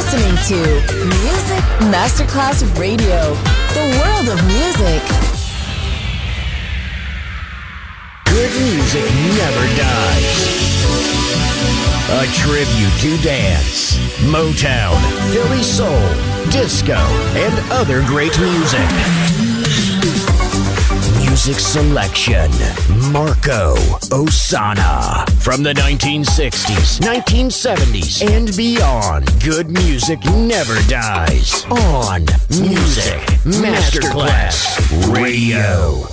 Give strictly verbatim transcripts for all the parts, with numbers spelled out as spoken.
listening to Music Masterclass Radio, the world of music. Good music never dies. A tribute to dance, Motown, Philly soul, disco, and other great music. Music selection, Marco Ossanna. From the nineteen sixties, nineteen seventies, and beyond, good music never dies. On Music Masterclass Radio.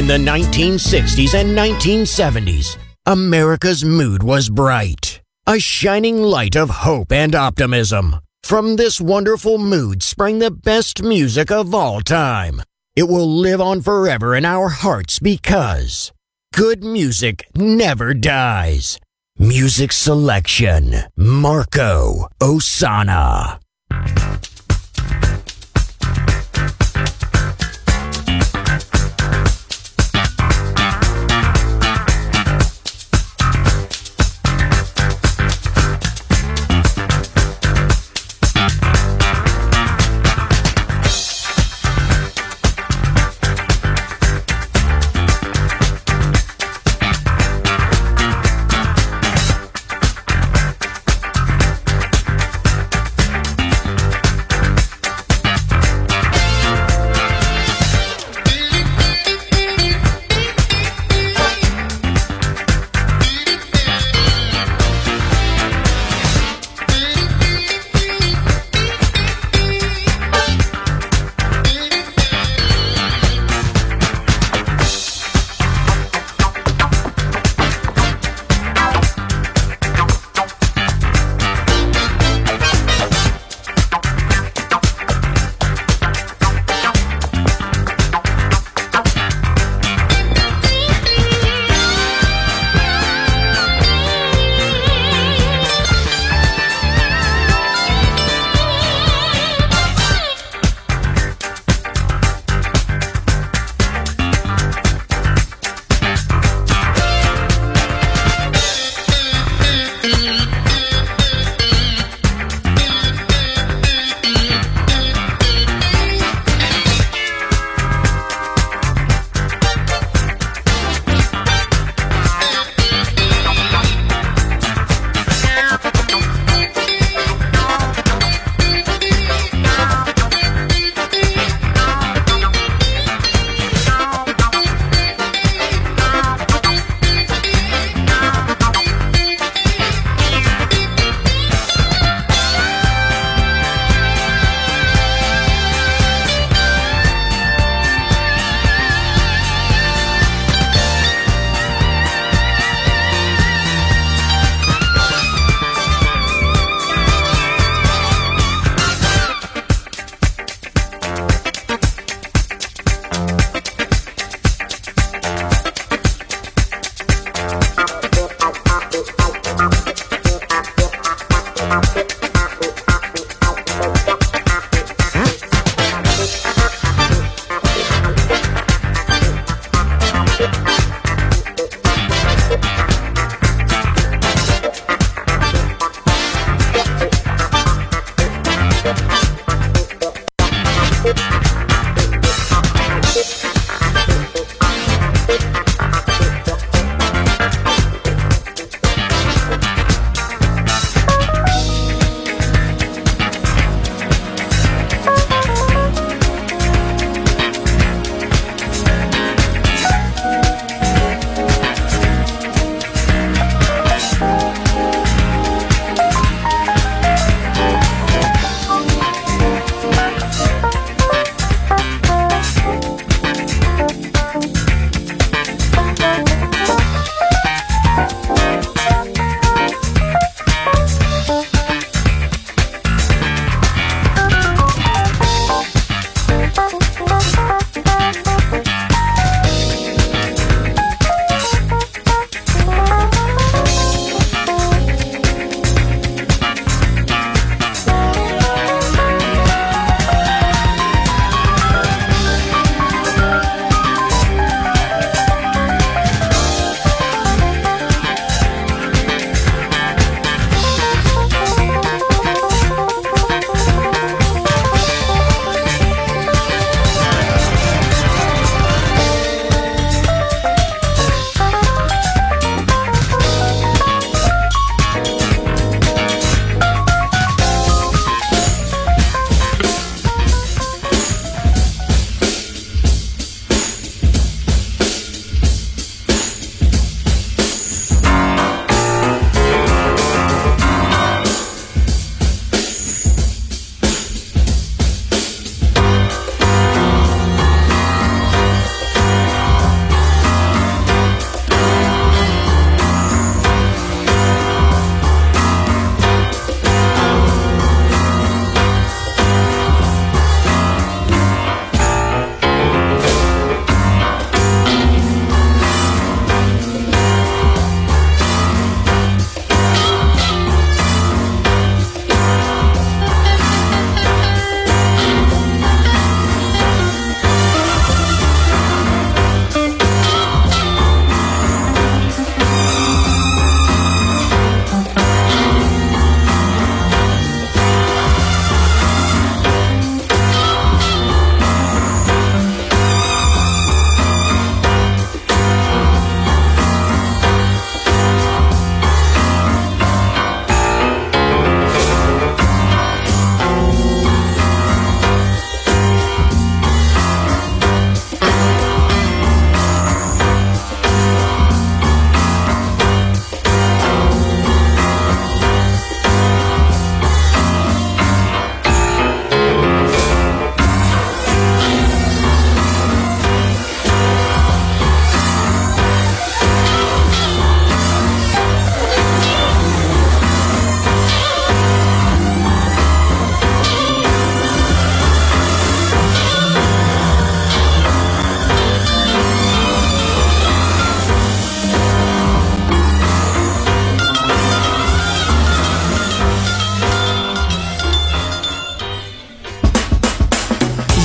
In the nineteen sixties and nineteen seventies, America's mood was bright, a shining light of hope and optimism. From this wonderful mood sprang the best music of all time. It will live on forever in our hearts because good music never dies. Music selection, Marco Ossanna.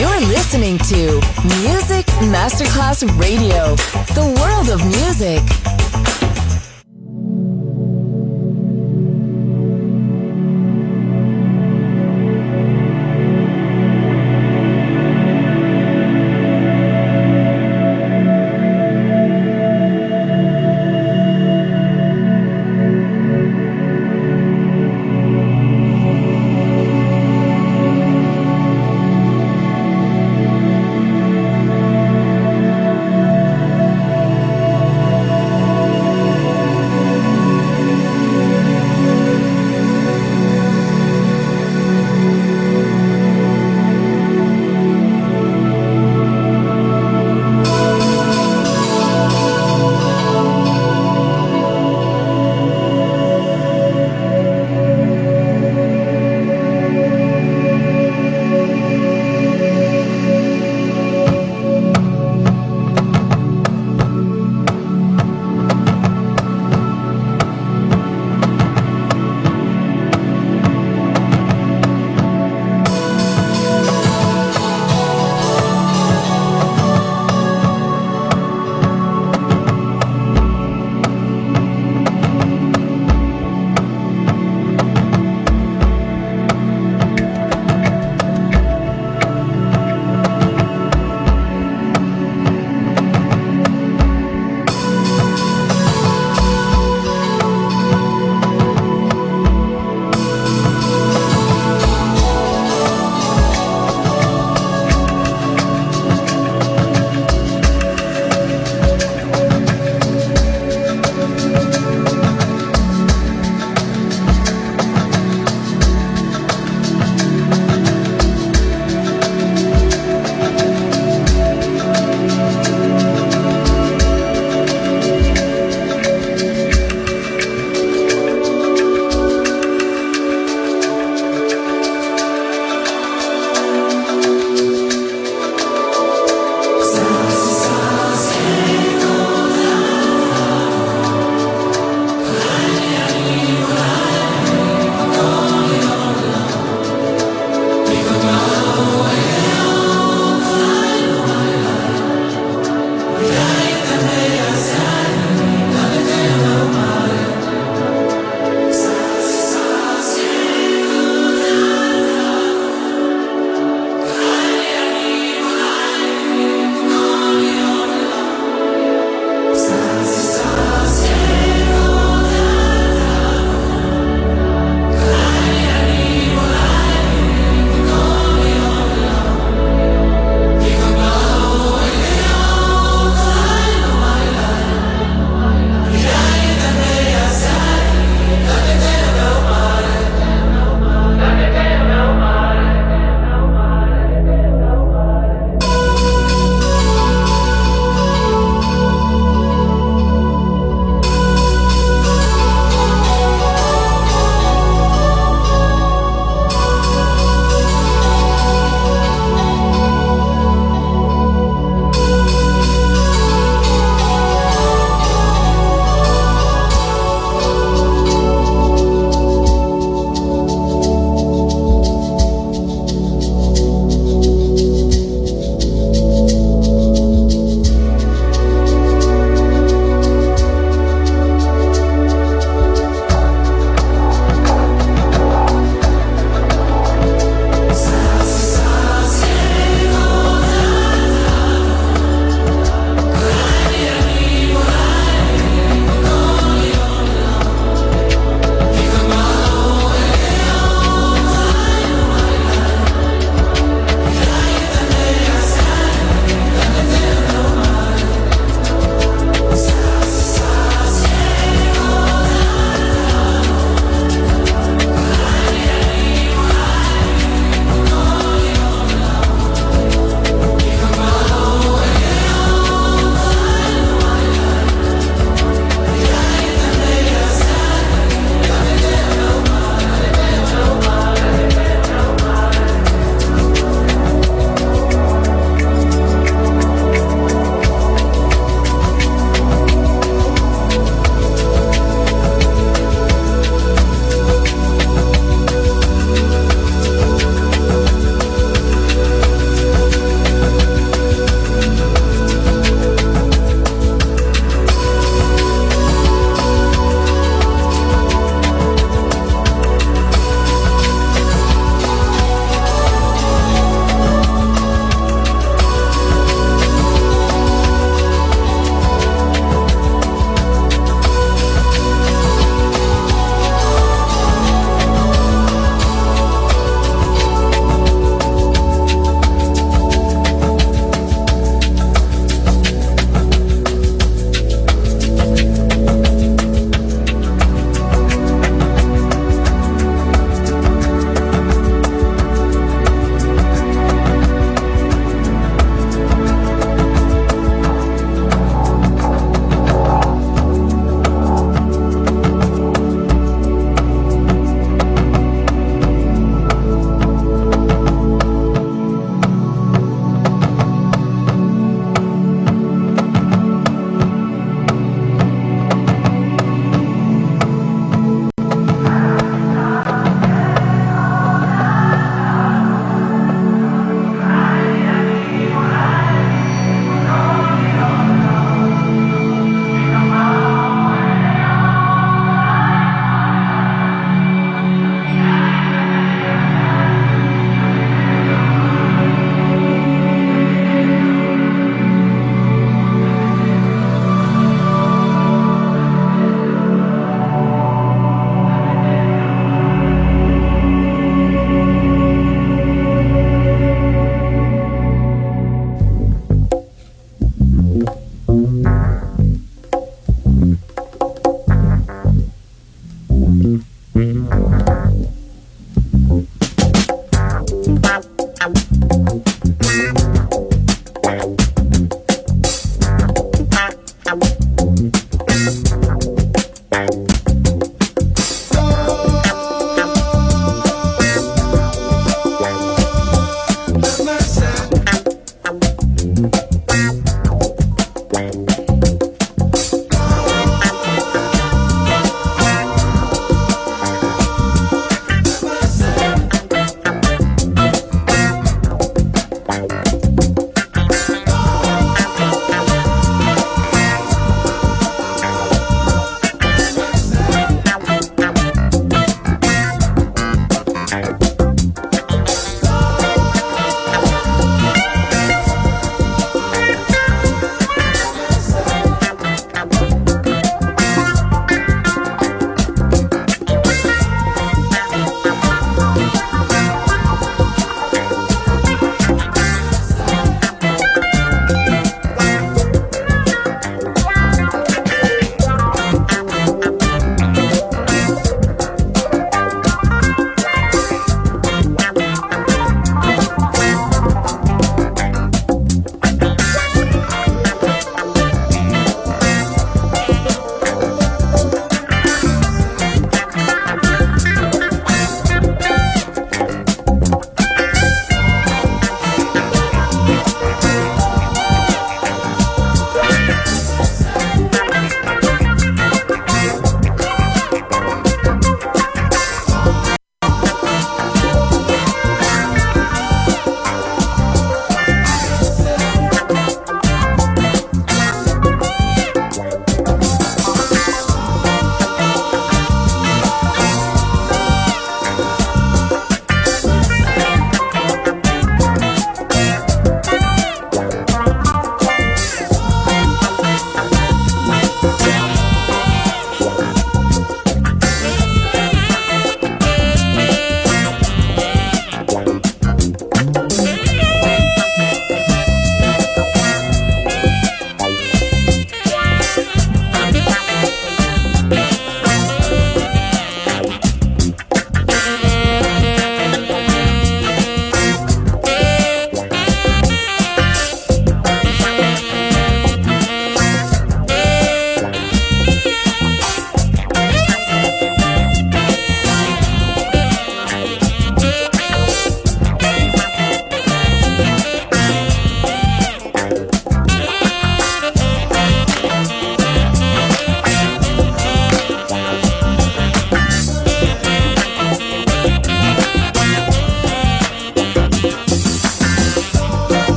You're listening to Music Masterclass Radio, the world of music.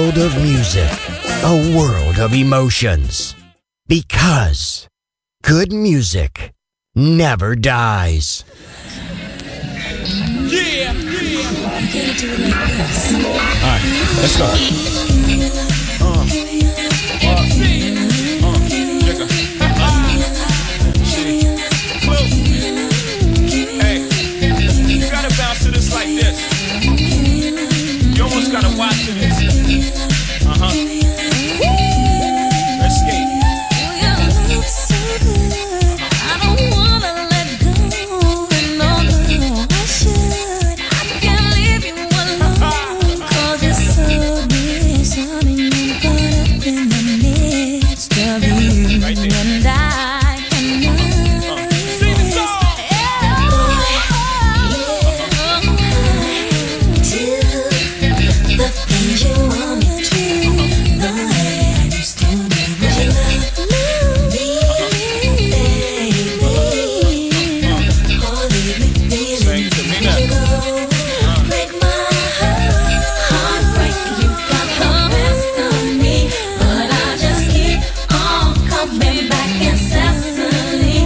world of music, a world of emotions. Because good music never dies. Yeah, yeah. I'm gonna do it like this. All right, let's go. Uh, uh, uh, check it. Shit. Close. Hey, you gotta bounce to this like this. You almost gotta watch this. Uh huh. Let's skate. I don't wanna let go. No, no, I should. I can't leave you alone. 'Cause you're so disarming and caught up in the midst of you. Right there. And I cannot resist. Do the things you want me to. The way I used to do. Would you love me? Sing to me now. Break my heart, break you got the best of me, but I just keep on coming back incessantly.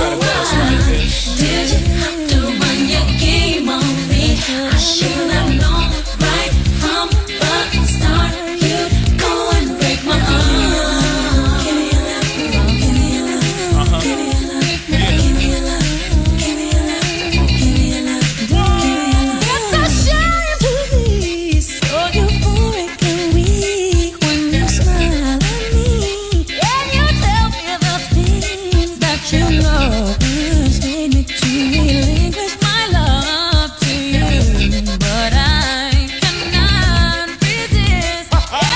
Did you have to run your game on me? I should have known right from the start. You'd go and break my heart. Give me your love, give me your love, give me your love, give me your love, give me your love, give me your love, give me your love. It's a shame to be so euphoric and weak when you smile at me and you tell me the things that you know persuade me to relinquish my love to you, but I cannot resist.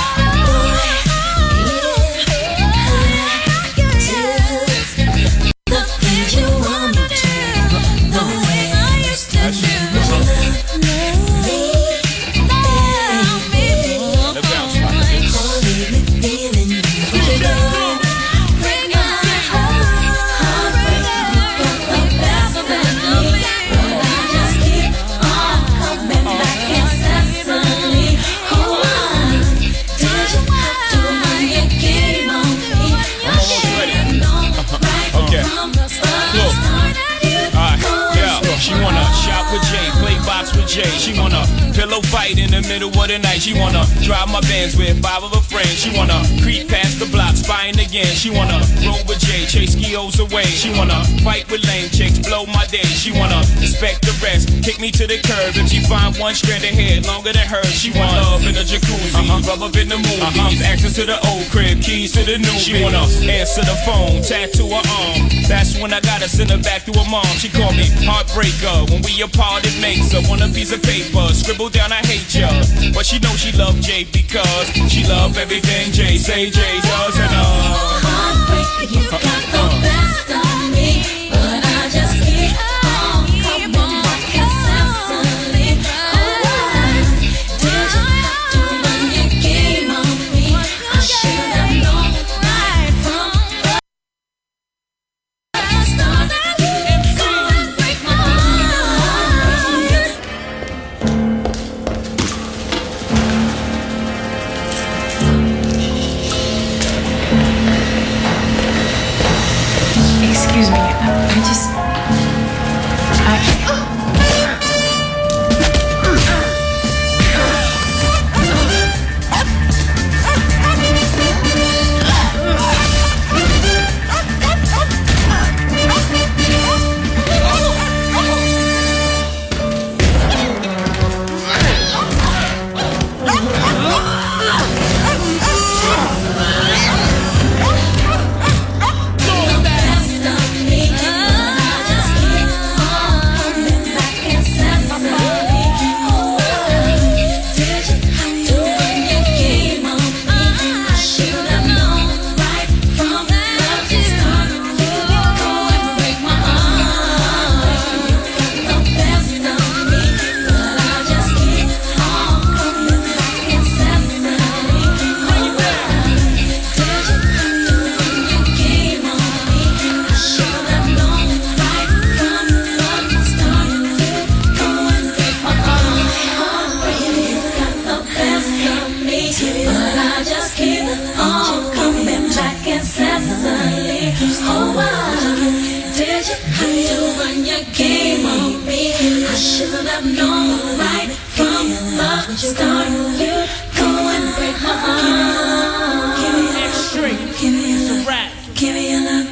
The things you want me to, the way I used to do. Love me, love me, Let's bounce like this. leave me feeling you. Break my heart, break you got the best of me, but I just keep on coming back incessantly. Oh, did you have to run your game on me? I should have known right Okay. from the start. Look. You'd Alright, go yeah. She wanna shop with Jay, play box with Jay. She wanna pillow fight in the middle of the night. She wanna drive my Benz with five of her friends. She wanna creep past the block, spying again. She wanna roll with Jay, chase skios away. She wanna fight with lame chicks, blow my day. She wanna respect the rest, kick me to the curb. If she find one strand of hair longer than hers, she want love in a jacuzzi, uh-huh. rub up in the movies, uh-huh. access to the old crib, keys to the new. She wanna answer the phone, tattoo her arm. That's when I gotta send her back to her mom. She called me heartbreaker. When we apart, it makes her want a piece of paper. Scribble down, I hate ya. But she know she love Jay because she love everything Jay say Jay does and uh. heartbreak, you got the best of me, but I just keep on coming back incessantly. Oh, did you have to run your game on me? I should have known right from the start. You'd go and break my heart. start, you go and break my heart. Give me your love, give me your love, give me your love.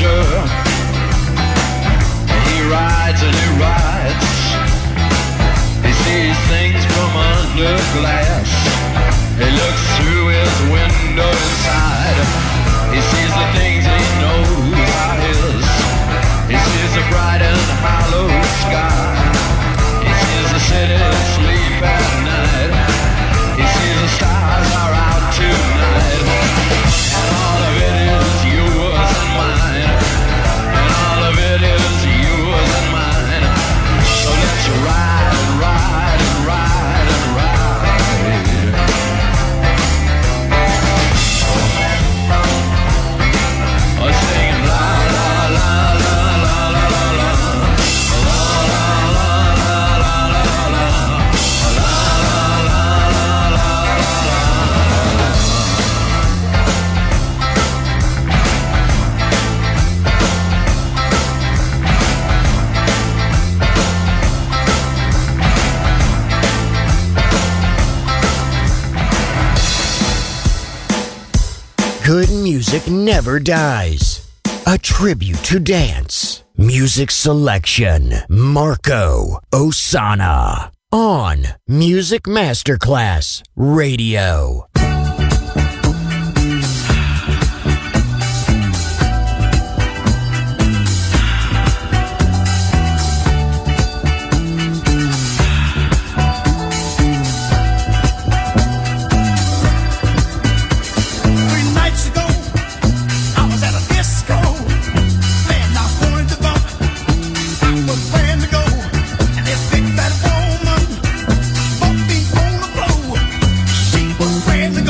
rider. He rides and he rides. He sees things from under glass. He looks through his window inside. He sees the things he knows are his. He sees the bright and hollow sky. He sees the city sleep at night. He sees the stars are out tonight. And all of it is yours and mine. And all of it is yours and mine. So let's ride and ride and ride and ride. Oh, singing la la la la la la la la la la la la la la. Good music never dies. A tribute to dance. Music selection. Marco Ossanna. On Music Masterclass Radio. Friends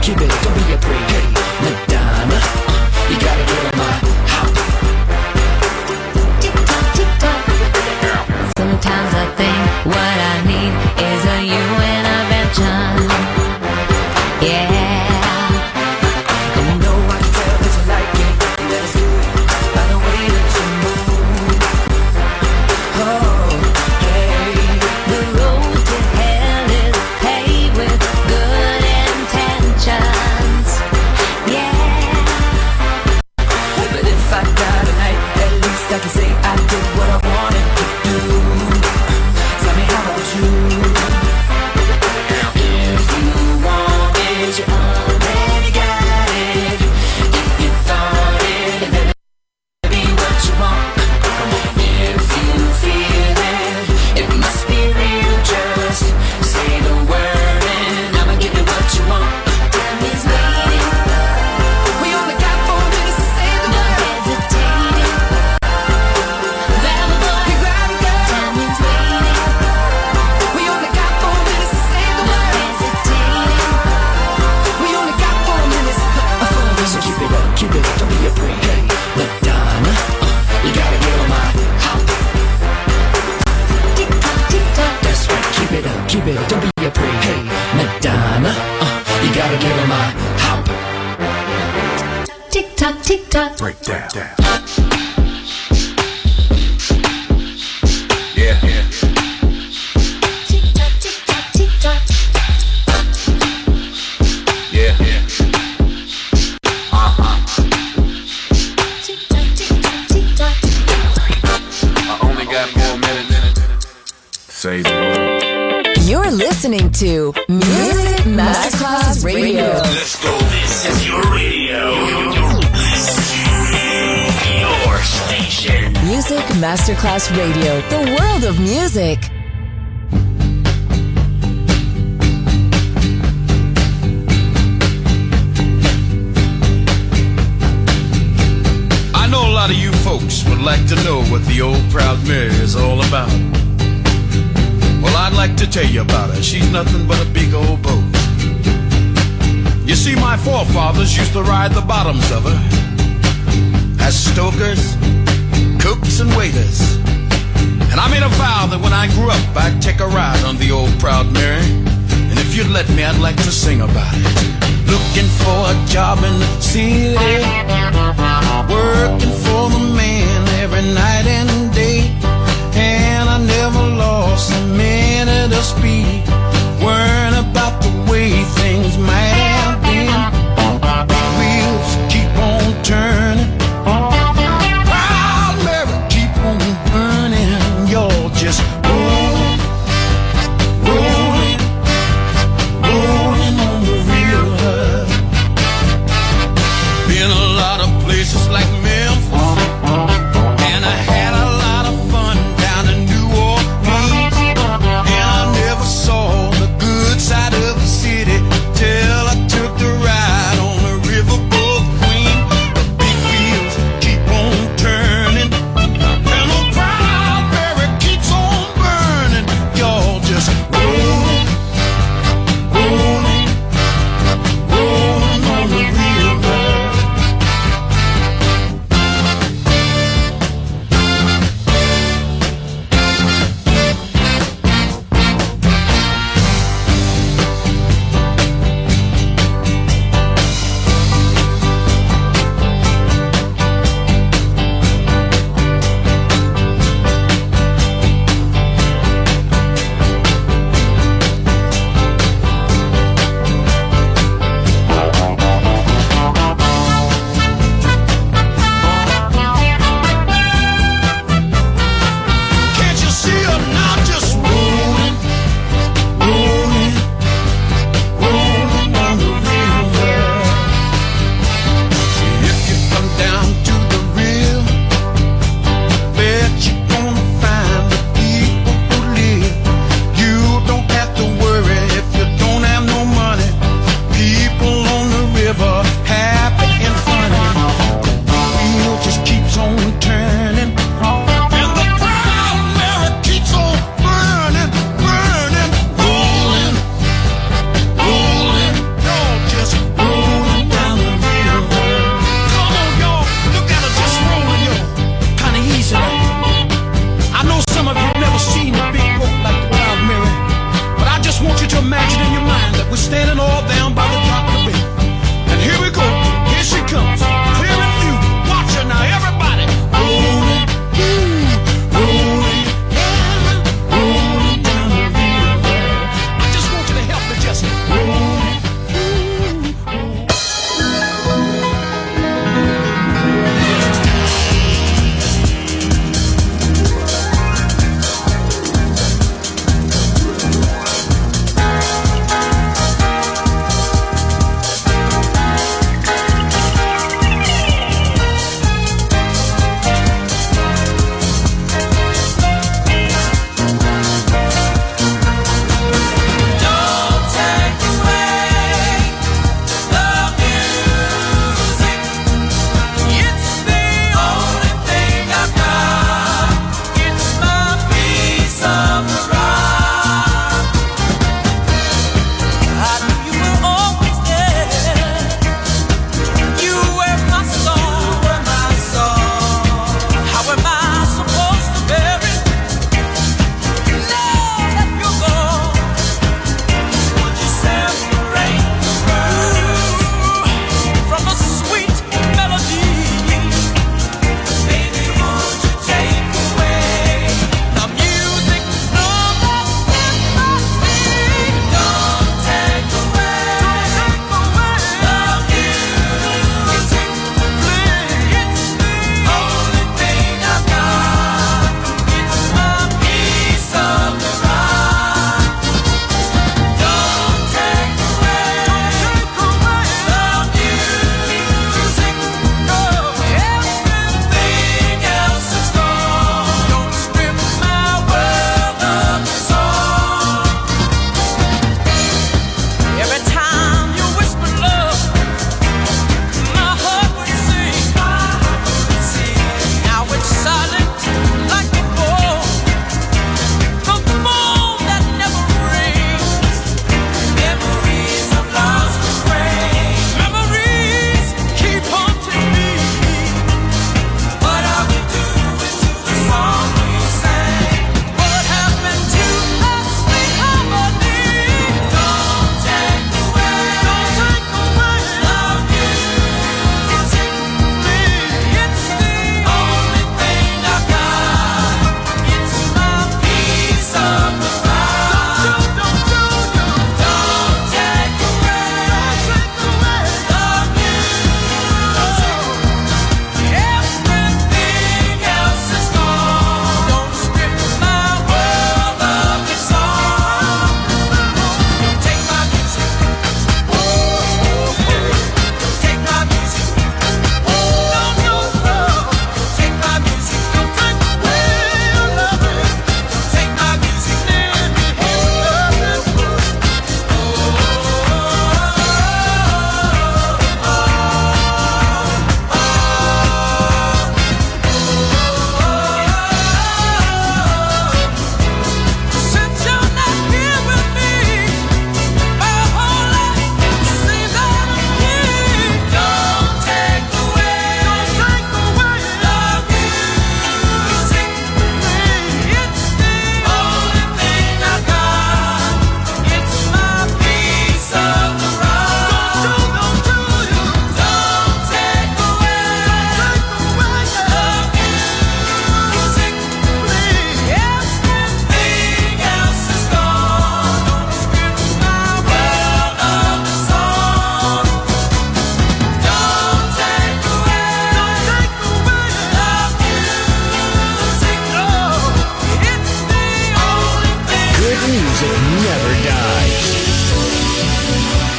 keep it, don't be afraid. Hey, Madonna, uh, you gotta get on my hop. Tick tock, tick tock. Sometimes I think what I need is a you intervention. Yeah. And you know I can tell that you like it. That's good by the way that you move. Oh, hey. The road to hell is paved with good intentions. Yeah. But if I die tonight, at least I can say I did what I wanted to do. Tell me how about you? If you want it, you already got it. If you thought it, it better be what you want. If you feel it, it must be real. Just say the word and I'ma give you what you want. Time is waiting, We only got four minutes to say the no word. hesitating. Grab a boy, You grab it, girl. time is waiting, We only got four minutes to say the no word. hesitating. We only got four minutes. Uh, four minutes. So keep it up, keep it up, don't be afraid. Hey, Madonna, uh, you gotta get on my hop. Tick tock, tick tock. That's right, keep it up, keep it up, don't be afraid. Hey, Madonna, uh, you gotta get on my hop. Tick tock, tick tock. Break down. Yeah, yeah. Tick tock, tick tock, tick tock. Yeah, yeah. Uh-huh. Tick tock, tick tock, tick tock. I only got four minutes. Say the word. You're listening to Music Masterclass Radio. Let's go. This is your radio. Your station. Music Masterclass Radio, the world of music. I know a lot of you folks would like to know what the old Proud Mary is all about. Well, I'd like to tell you about her. She's nothing but a big old boat. You see, my forefathers used to ride the bottoms of her as stokers, cooks, and waiters. And I made a vow that when I grew up, I'd take a ride on the old Proud Mary. And if you'd let me, I'd like to sing about it. Looking for a job in the city, working for the man every night and day. And I never lost a minute of speed, worrying about the way things might have been. Wheels keep on turning, Proud Mary keep on burning. You're just rolling, rolling, rolling on the river. Been a lot of places like Memphis, and I had a lot of fun down in New Orleans. And I never saw the good side of the city till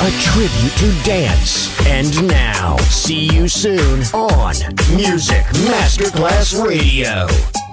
a tribute to dance. And now, see you soon on Music Masterclass Radio.